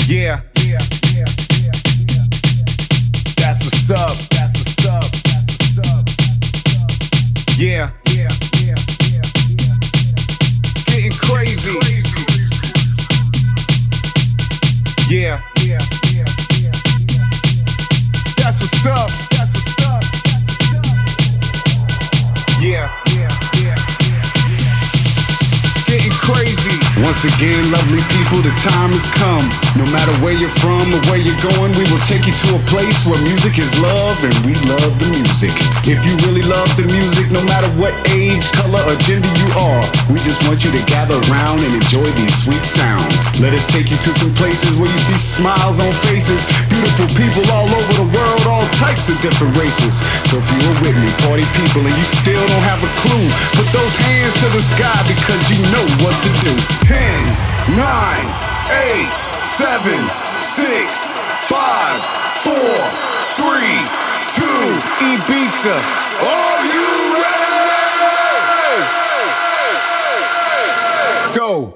Yeah. That's what's up. Yeah. Getting crazy. Yeah. That's what's up. Yeah. Getting crazy. Once again, lovely people, the time has come. No matter where you're from or where you're going, we will take you to a place where music is love and we love the music. If you really love the music, no matter what age, color, or gender you are, we just want you to gather around and enjoy these sweet sounds. Let us take you to some places where you see smiles on faces, beautiful people all over the world, all types of different races. So if you're with me, party people, and you still don't have a clue, put those hands to the sky because you know what to do. 10, 9, 8, 7, 6, 5, 4, 3, 2, Ibiza. Are you ready? Go.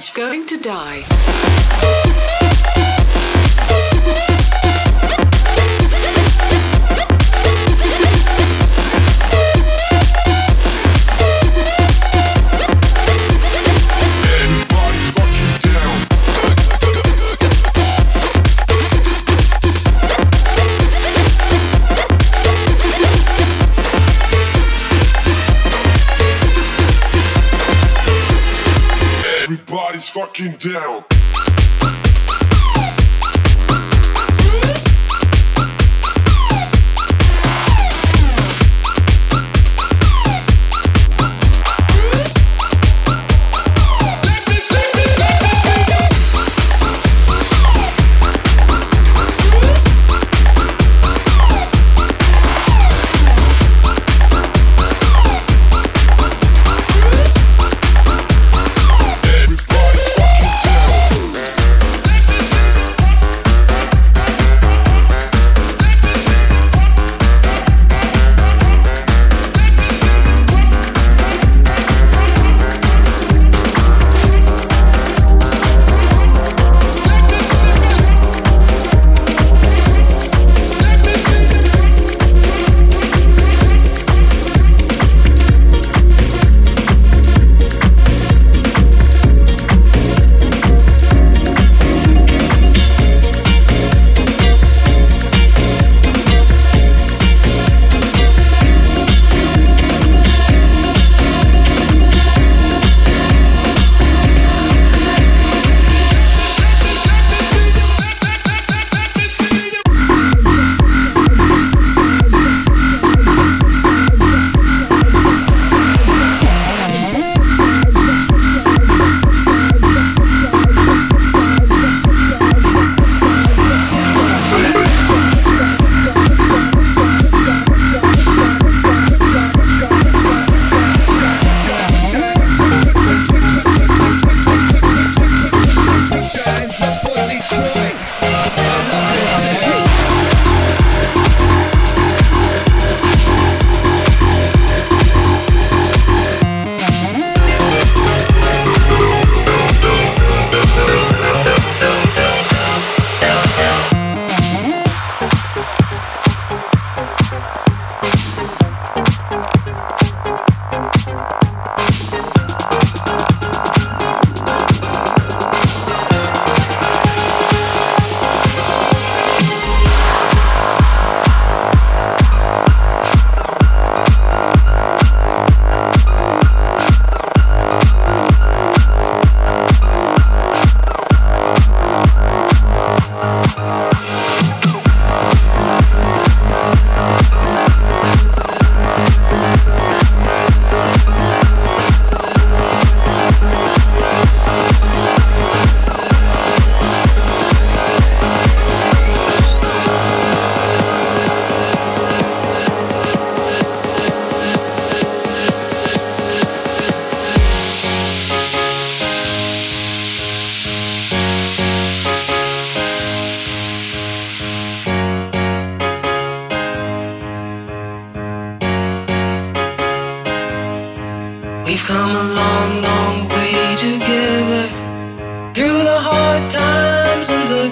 Everybody's going to die. Everybody's fucking down. We've come a long, long way together, through the hard times and the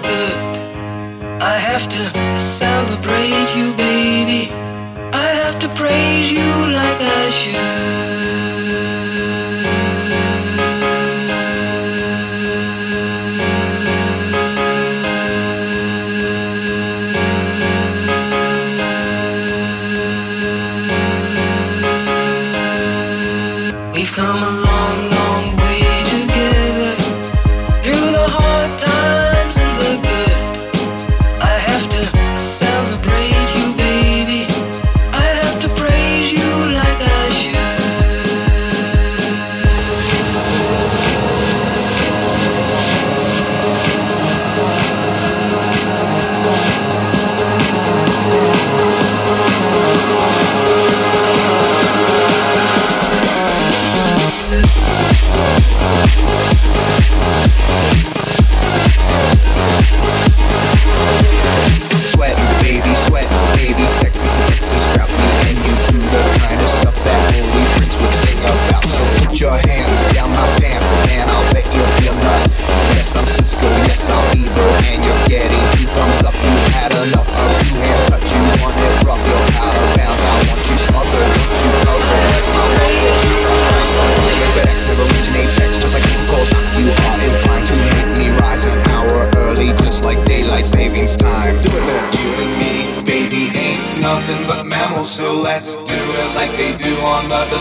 good. I have to celebrate you, baby. I have to praise you like I We've come a long, long way together, through the hard times and the good. I have to celebrate you, baby. I have to praise you like I should.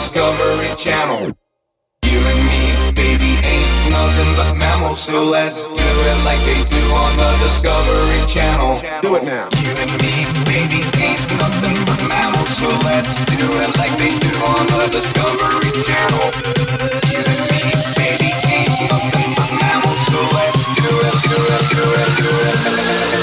Discovery Channel. You and me, baby, ain't nothing but mammals, so let's do it like they do on the Discovery Channel. Do it now. You and me, baby, ain't nothing but mammals, so let's do it like they do on the Discovery Channel. You and me, baby, ain't nothing but mammals, so let's do it, do it, do it, do it.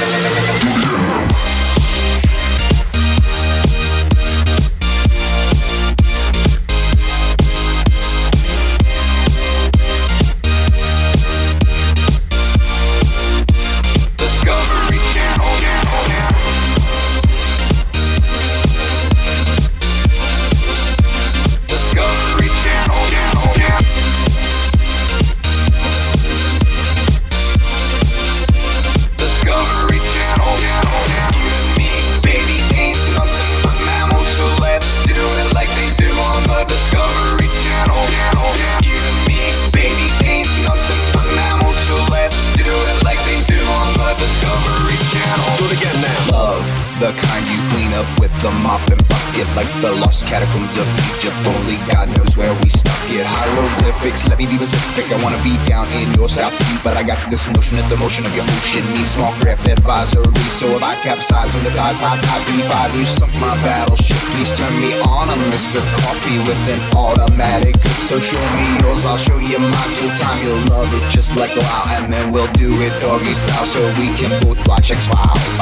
The kind you clean up with a mop and bucket, like the lost catacombs of Egypt. Only God knows where we stuck it. Hieroglyphics, let me be specific. I wanna be down in your South Seas, but I got this notion that the motion of your ocean needs small craft advisory. So if I capsize on the thighs, high tide 25, you sunk my battleship. Please turn me on, I'm Mr. Coffee with an automatic drip. So show me yours, I'll show you mine. Till time you'll love it just like wow, and then we'll do it doggy style, so we can both watch X-Files.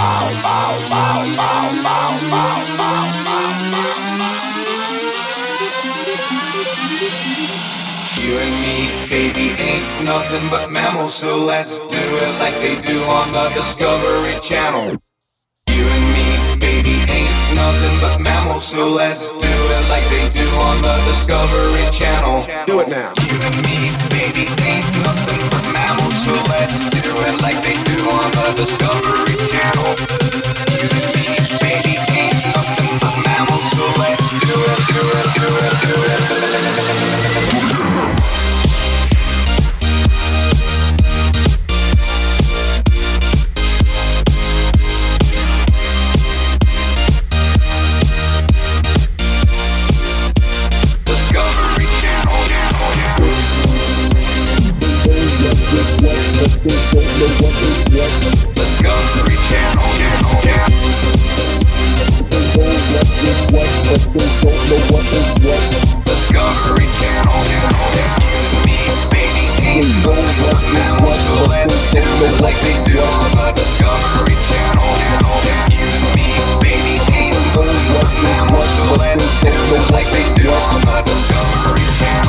You and me, baby, ain't nothing but mammals, so let's do it like they do on the Discovery Channel. You and me, baby, ain't nothing but mammals, so let's do it like they do on the Discovery Channel. Do it now. You and me, baby, ain't nothing but mammals, so let's do it like they do on the Discovery Channel. You and me, baby, ain't nothing but mammals, so let's do it, do it, do it, do it. Discovery Channel. Discovery Channel. Discovery Channel. Me, baby, ain't nothing but mammals, so let's do it like they do on the Discovery Channel. You and me, baby, ain't nothing but mammals, so let's do it like they do on the Discovery Channel.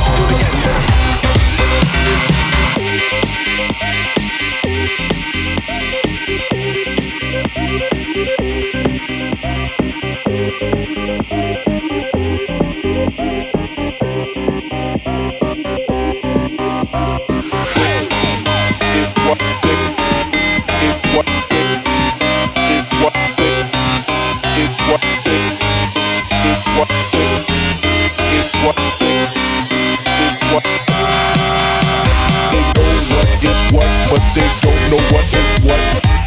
But they don't know what is what.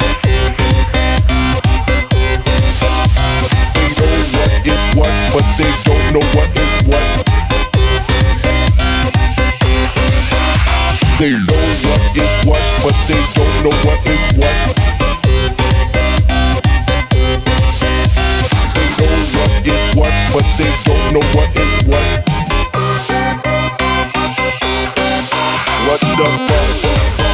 They know what is what, but they don't know what is what. They know what is what, but they don't know what is what. They know what is what, but they don't know what is what. What the fuck?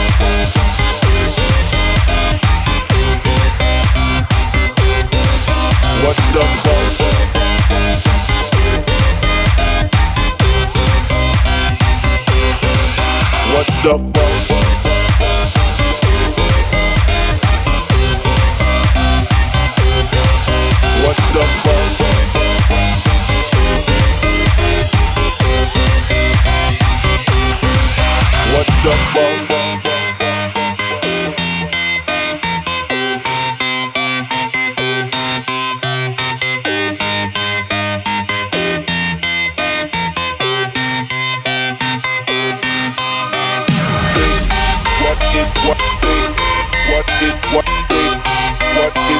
What the fuck? What the fuck? What the fuck? What the fuck?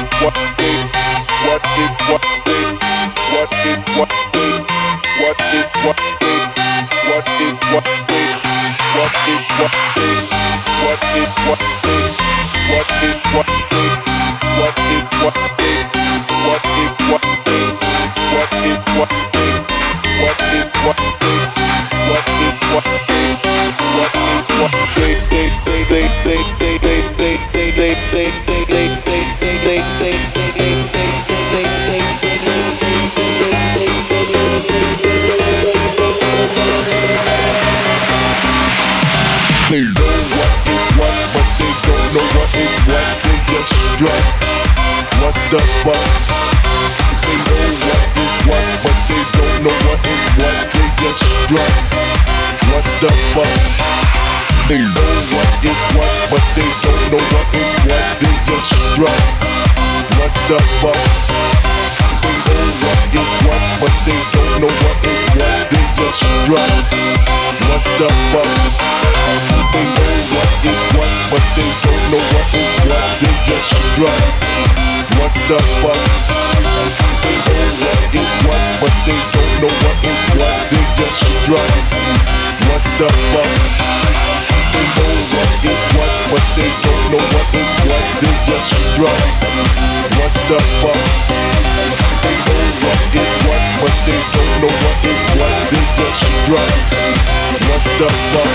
What They know what is what, but they don't know what is what. They just strut. What the fuck? They know what is what, but they don't know what is what. They just strut. What the fuck? They know what is what, but they don't know what is what. They just strut. What the fuck? They know what is what, but they don't know what is what. They just strut. What the fuck? They know what is what, but they don't know what is what. They just strut. What the fuck? They know what is what, but they don't know what is what. They just strut. What the fuck? They know what is what, but they don't know what is what. They just strut. What the fuck? They know what is what, but they don't know what is what. They just strut. What the fuck?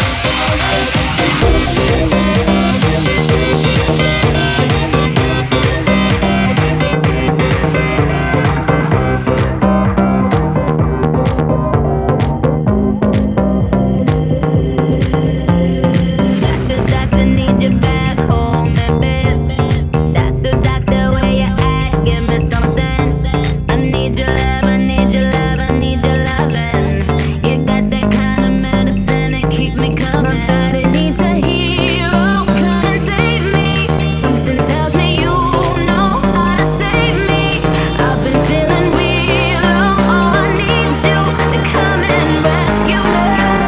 Doctor, need you back home, baby. Doctor, where you at? Give me something. I need your love, I need your love, I need your loving. You got that kind of medicine that keep me coming. My body needs a hero, come and save me. Something tells me you know how to save me. I've been feeling real low, oh, I need you to come and rescue me.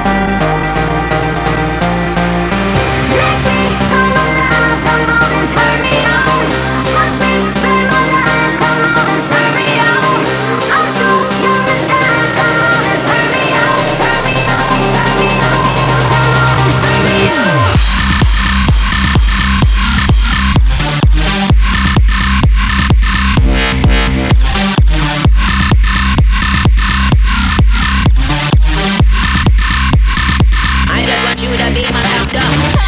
Make me come alive, come on and turn me on. Touch me, save my life, come on and turn me on. I'm too young to die, come on and turn me on. Turn me on, turn me on, come on and turn me on. I just want you to be my doctor.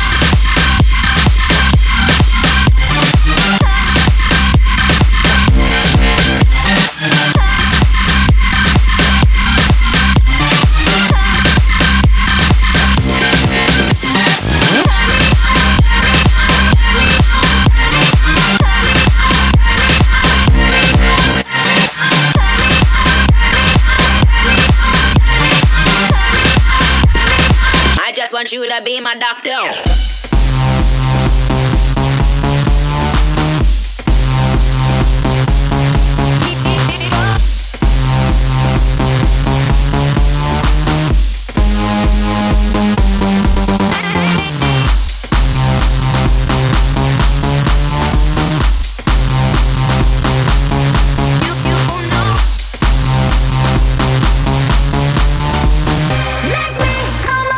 I just want you to be my doctor. Make me come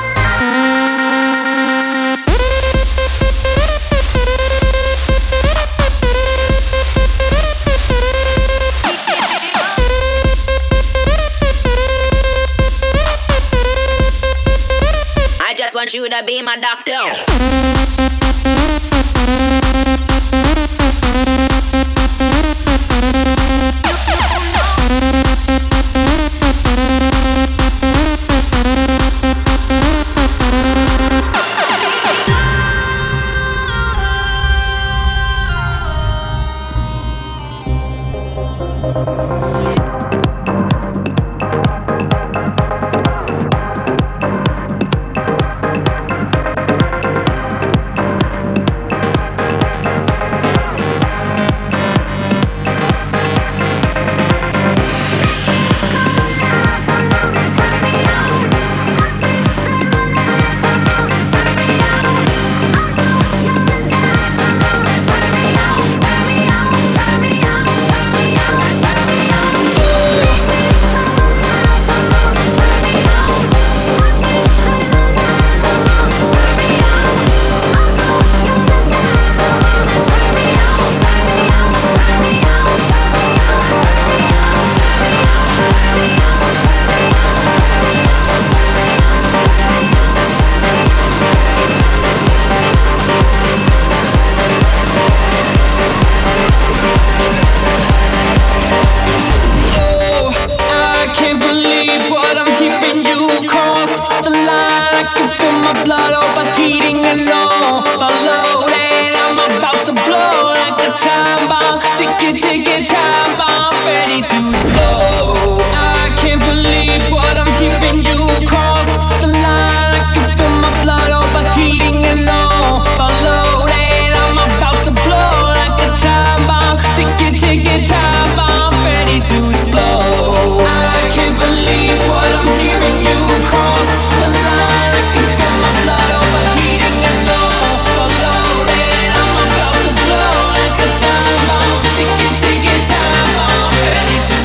I just want you to be my doctor. ticket time bomb ready to explode. I can't believe what I'm hearing. You've crossed the line. I can feel my blood overheating and overloading. I'm about to blow like a time bomb. Ticket time bomb ready to explode. I can't believe what I'm hearing. You've crossed the line. I can feel my blood overheating and overloading. I'm about to blow like a time bomb. Ticket time bomb ready to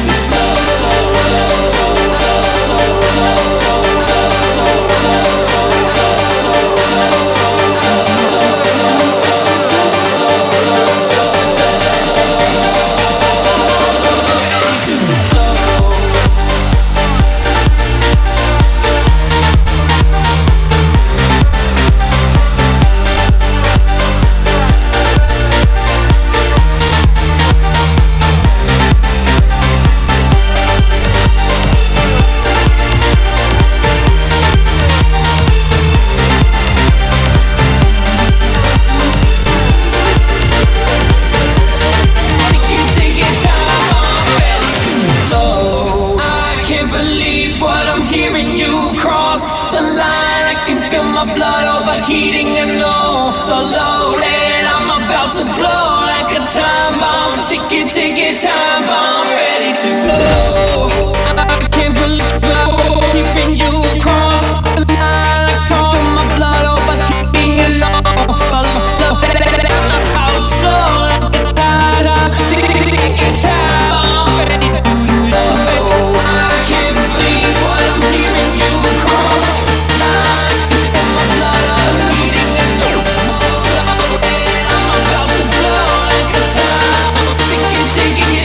heating and overloaded. I'm about to blow like a time bomb. Ticket time bomb ready to explode. I can't believe keeping you across the line. I can feel my blood overheating and overloaded. I'm about to like a time bomb. Ticket time bomb ready to explode. I can't believe what I'm hearing. You across the line.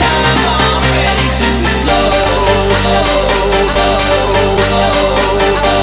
Oh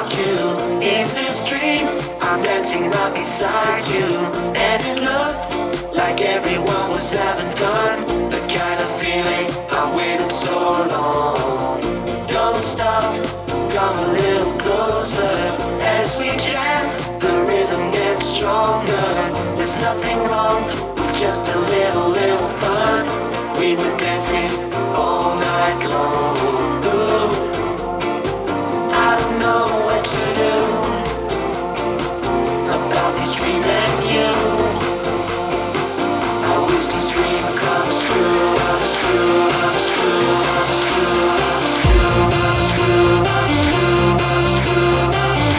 about you. In this dream, I'm dancing right beside you. And it looked like everyone was having fun. The kind of feeling I waited so long. Don't stop, come a little closer. As we jam, the rhythm gets stronger. There's nothing wrong with just a little fun. We were dancing all night long. Ooh, I don't know what to do about this dream and you. I wish this dream comes true, comes true, comes true, comes true, comes true, comes true, comes true, comes true, comes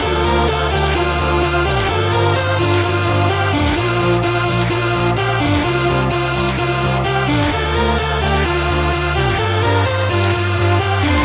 true, comes true.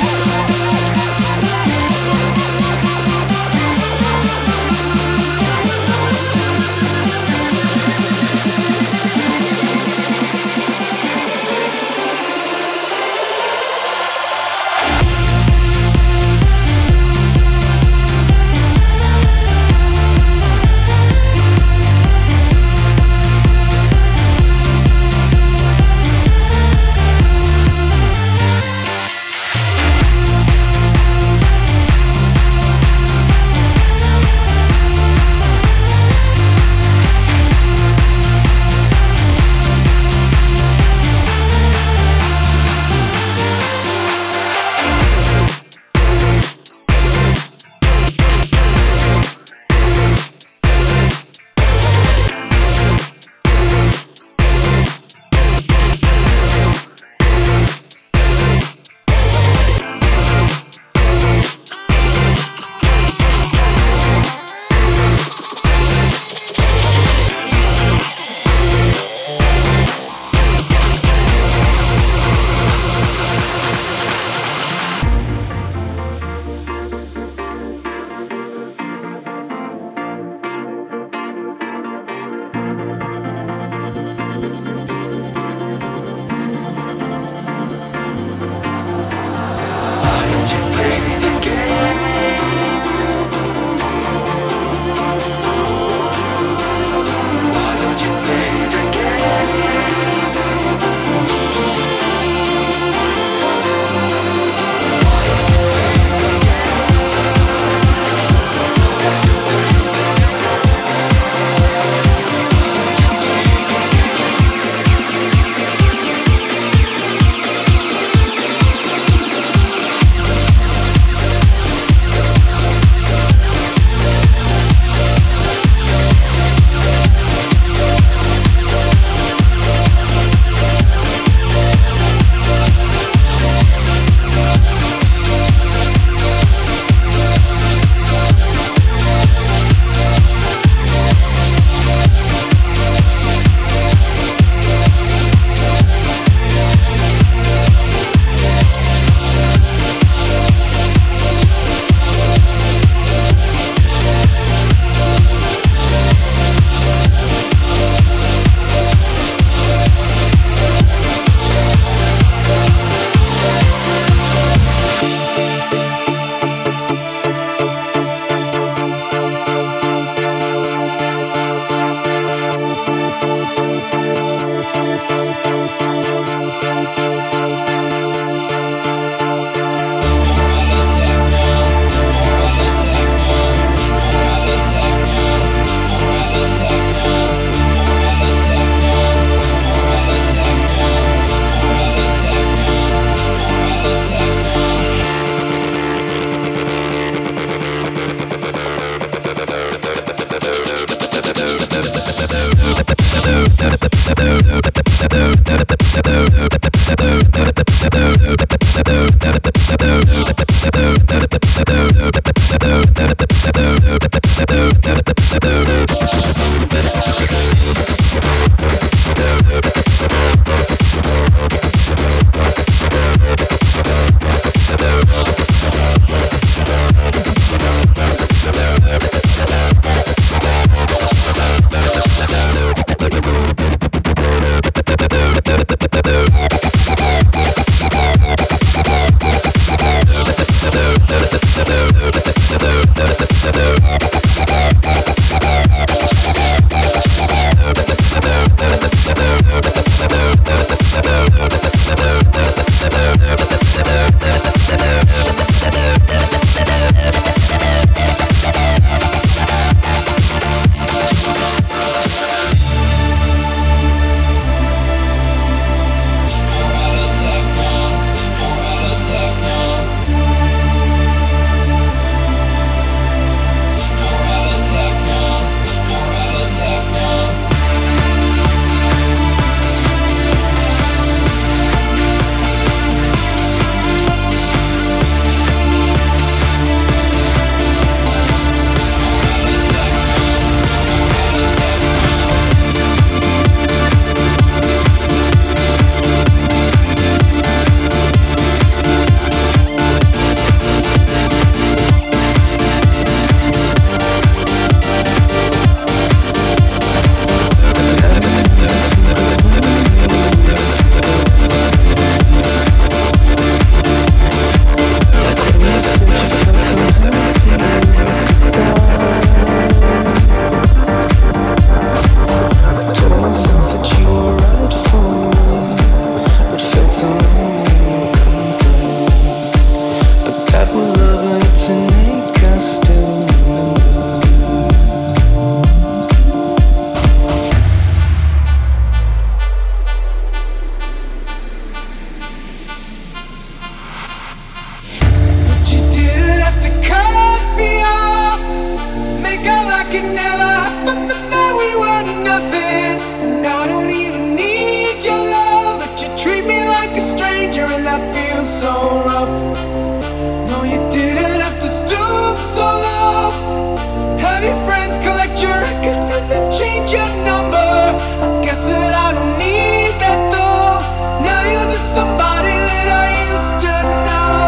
nothing, and I don't even need your love, but you treat me like a stranger, and that feels so rough. No, you didn't have to stoop so low. Have your friends collect your records and then change your number. I guess that I don't need that though. Now you're just somebody that I used to know.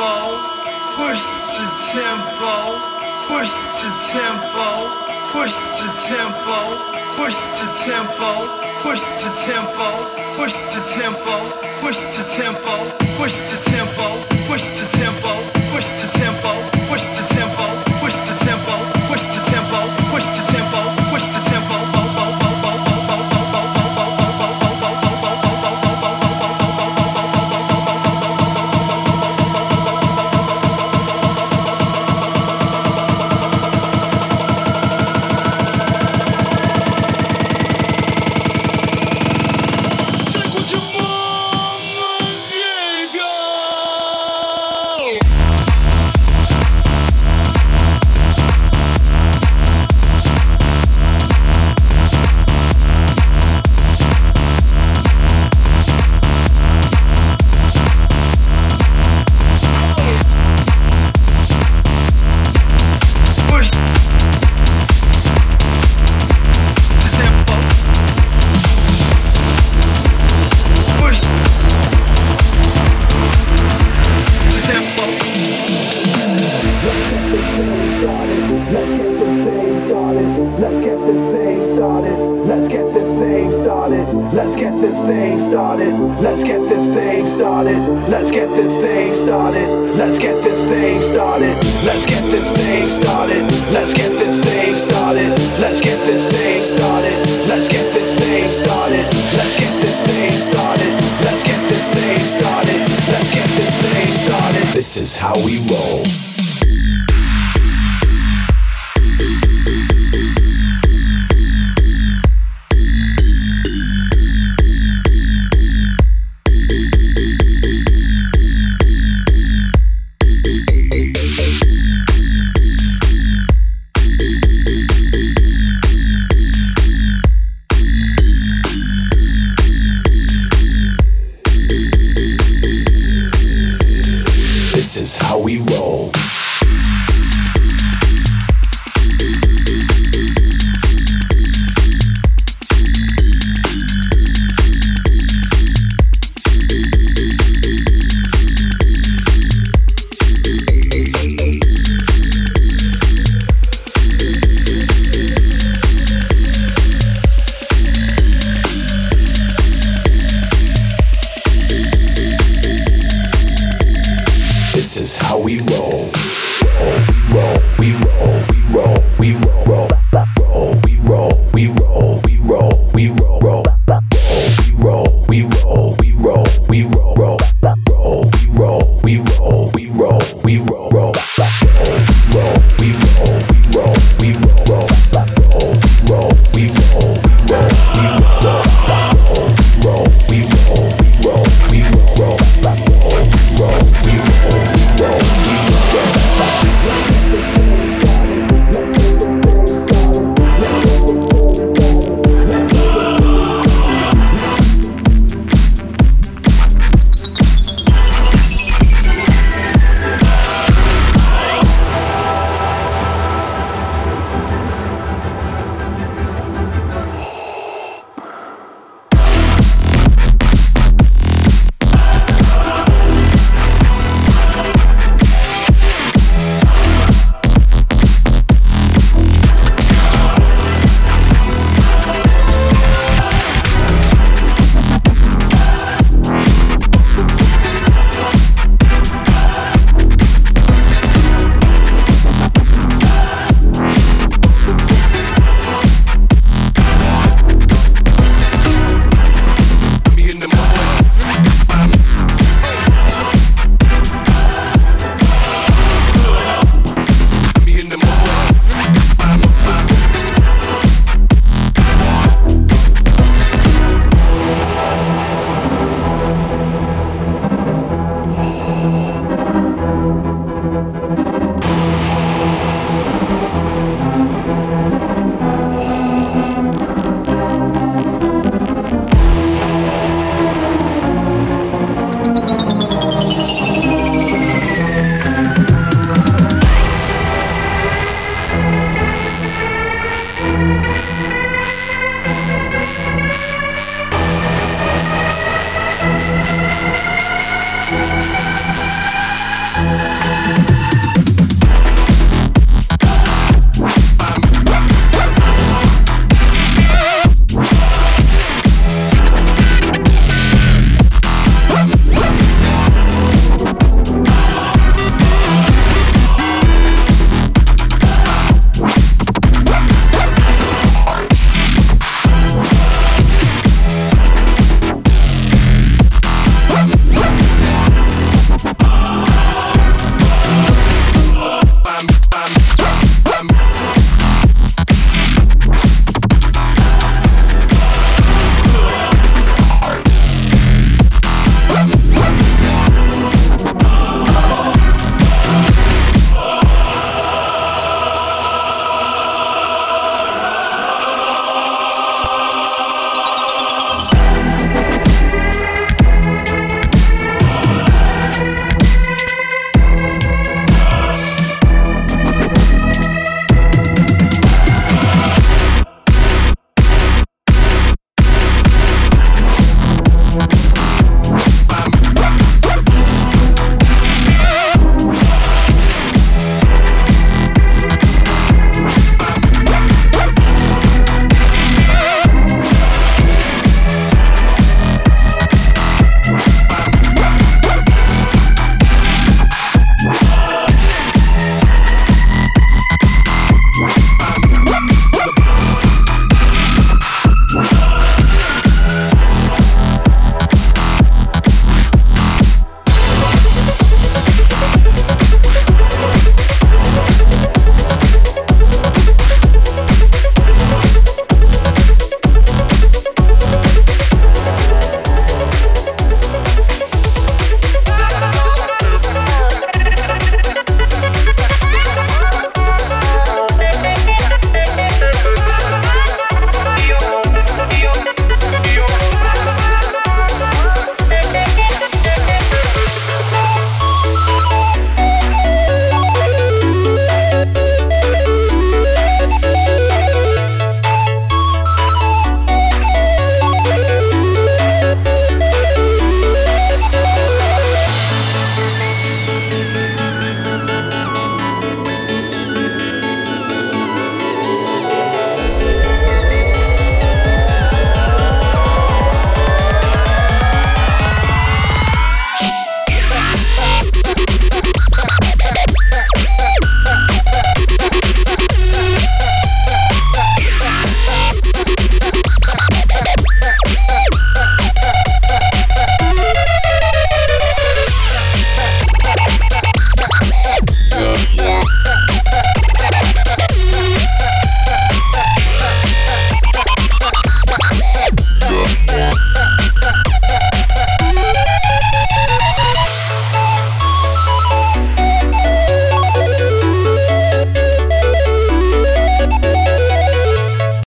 tempo, push the tempo, push the tempo, push the tempo, push the tempo, push the tempo, push the tempo, push the tempo, push the tempo, push the tempo, push the tempo, push the tempo, push the tempo, push the tempo, push the tempo, push the tempo. Let's get this thing started. Let's get this thing started. Let's get this thing started. Let's get this thing started. Let's get this thing started. Let's get this thing started. Let's get this thing started. Let's get this thing started. Let's get this thing started. Let's get this thing started. Let's get this thing started. This is how we roll.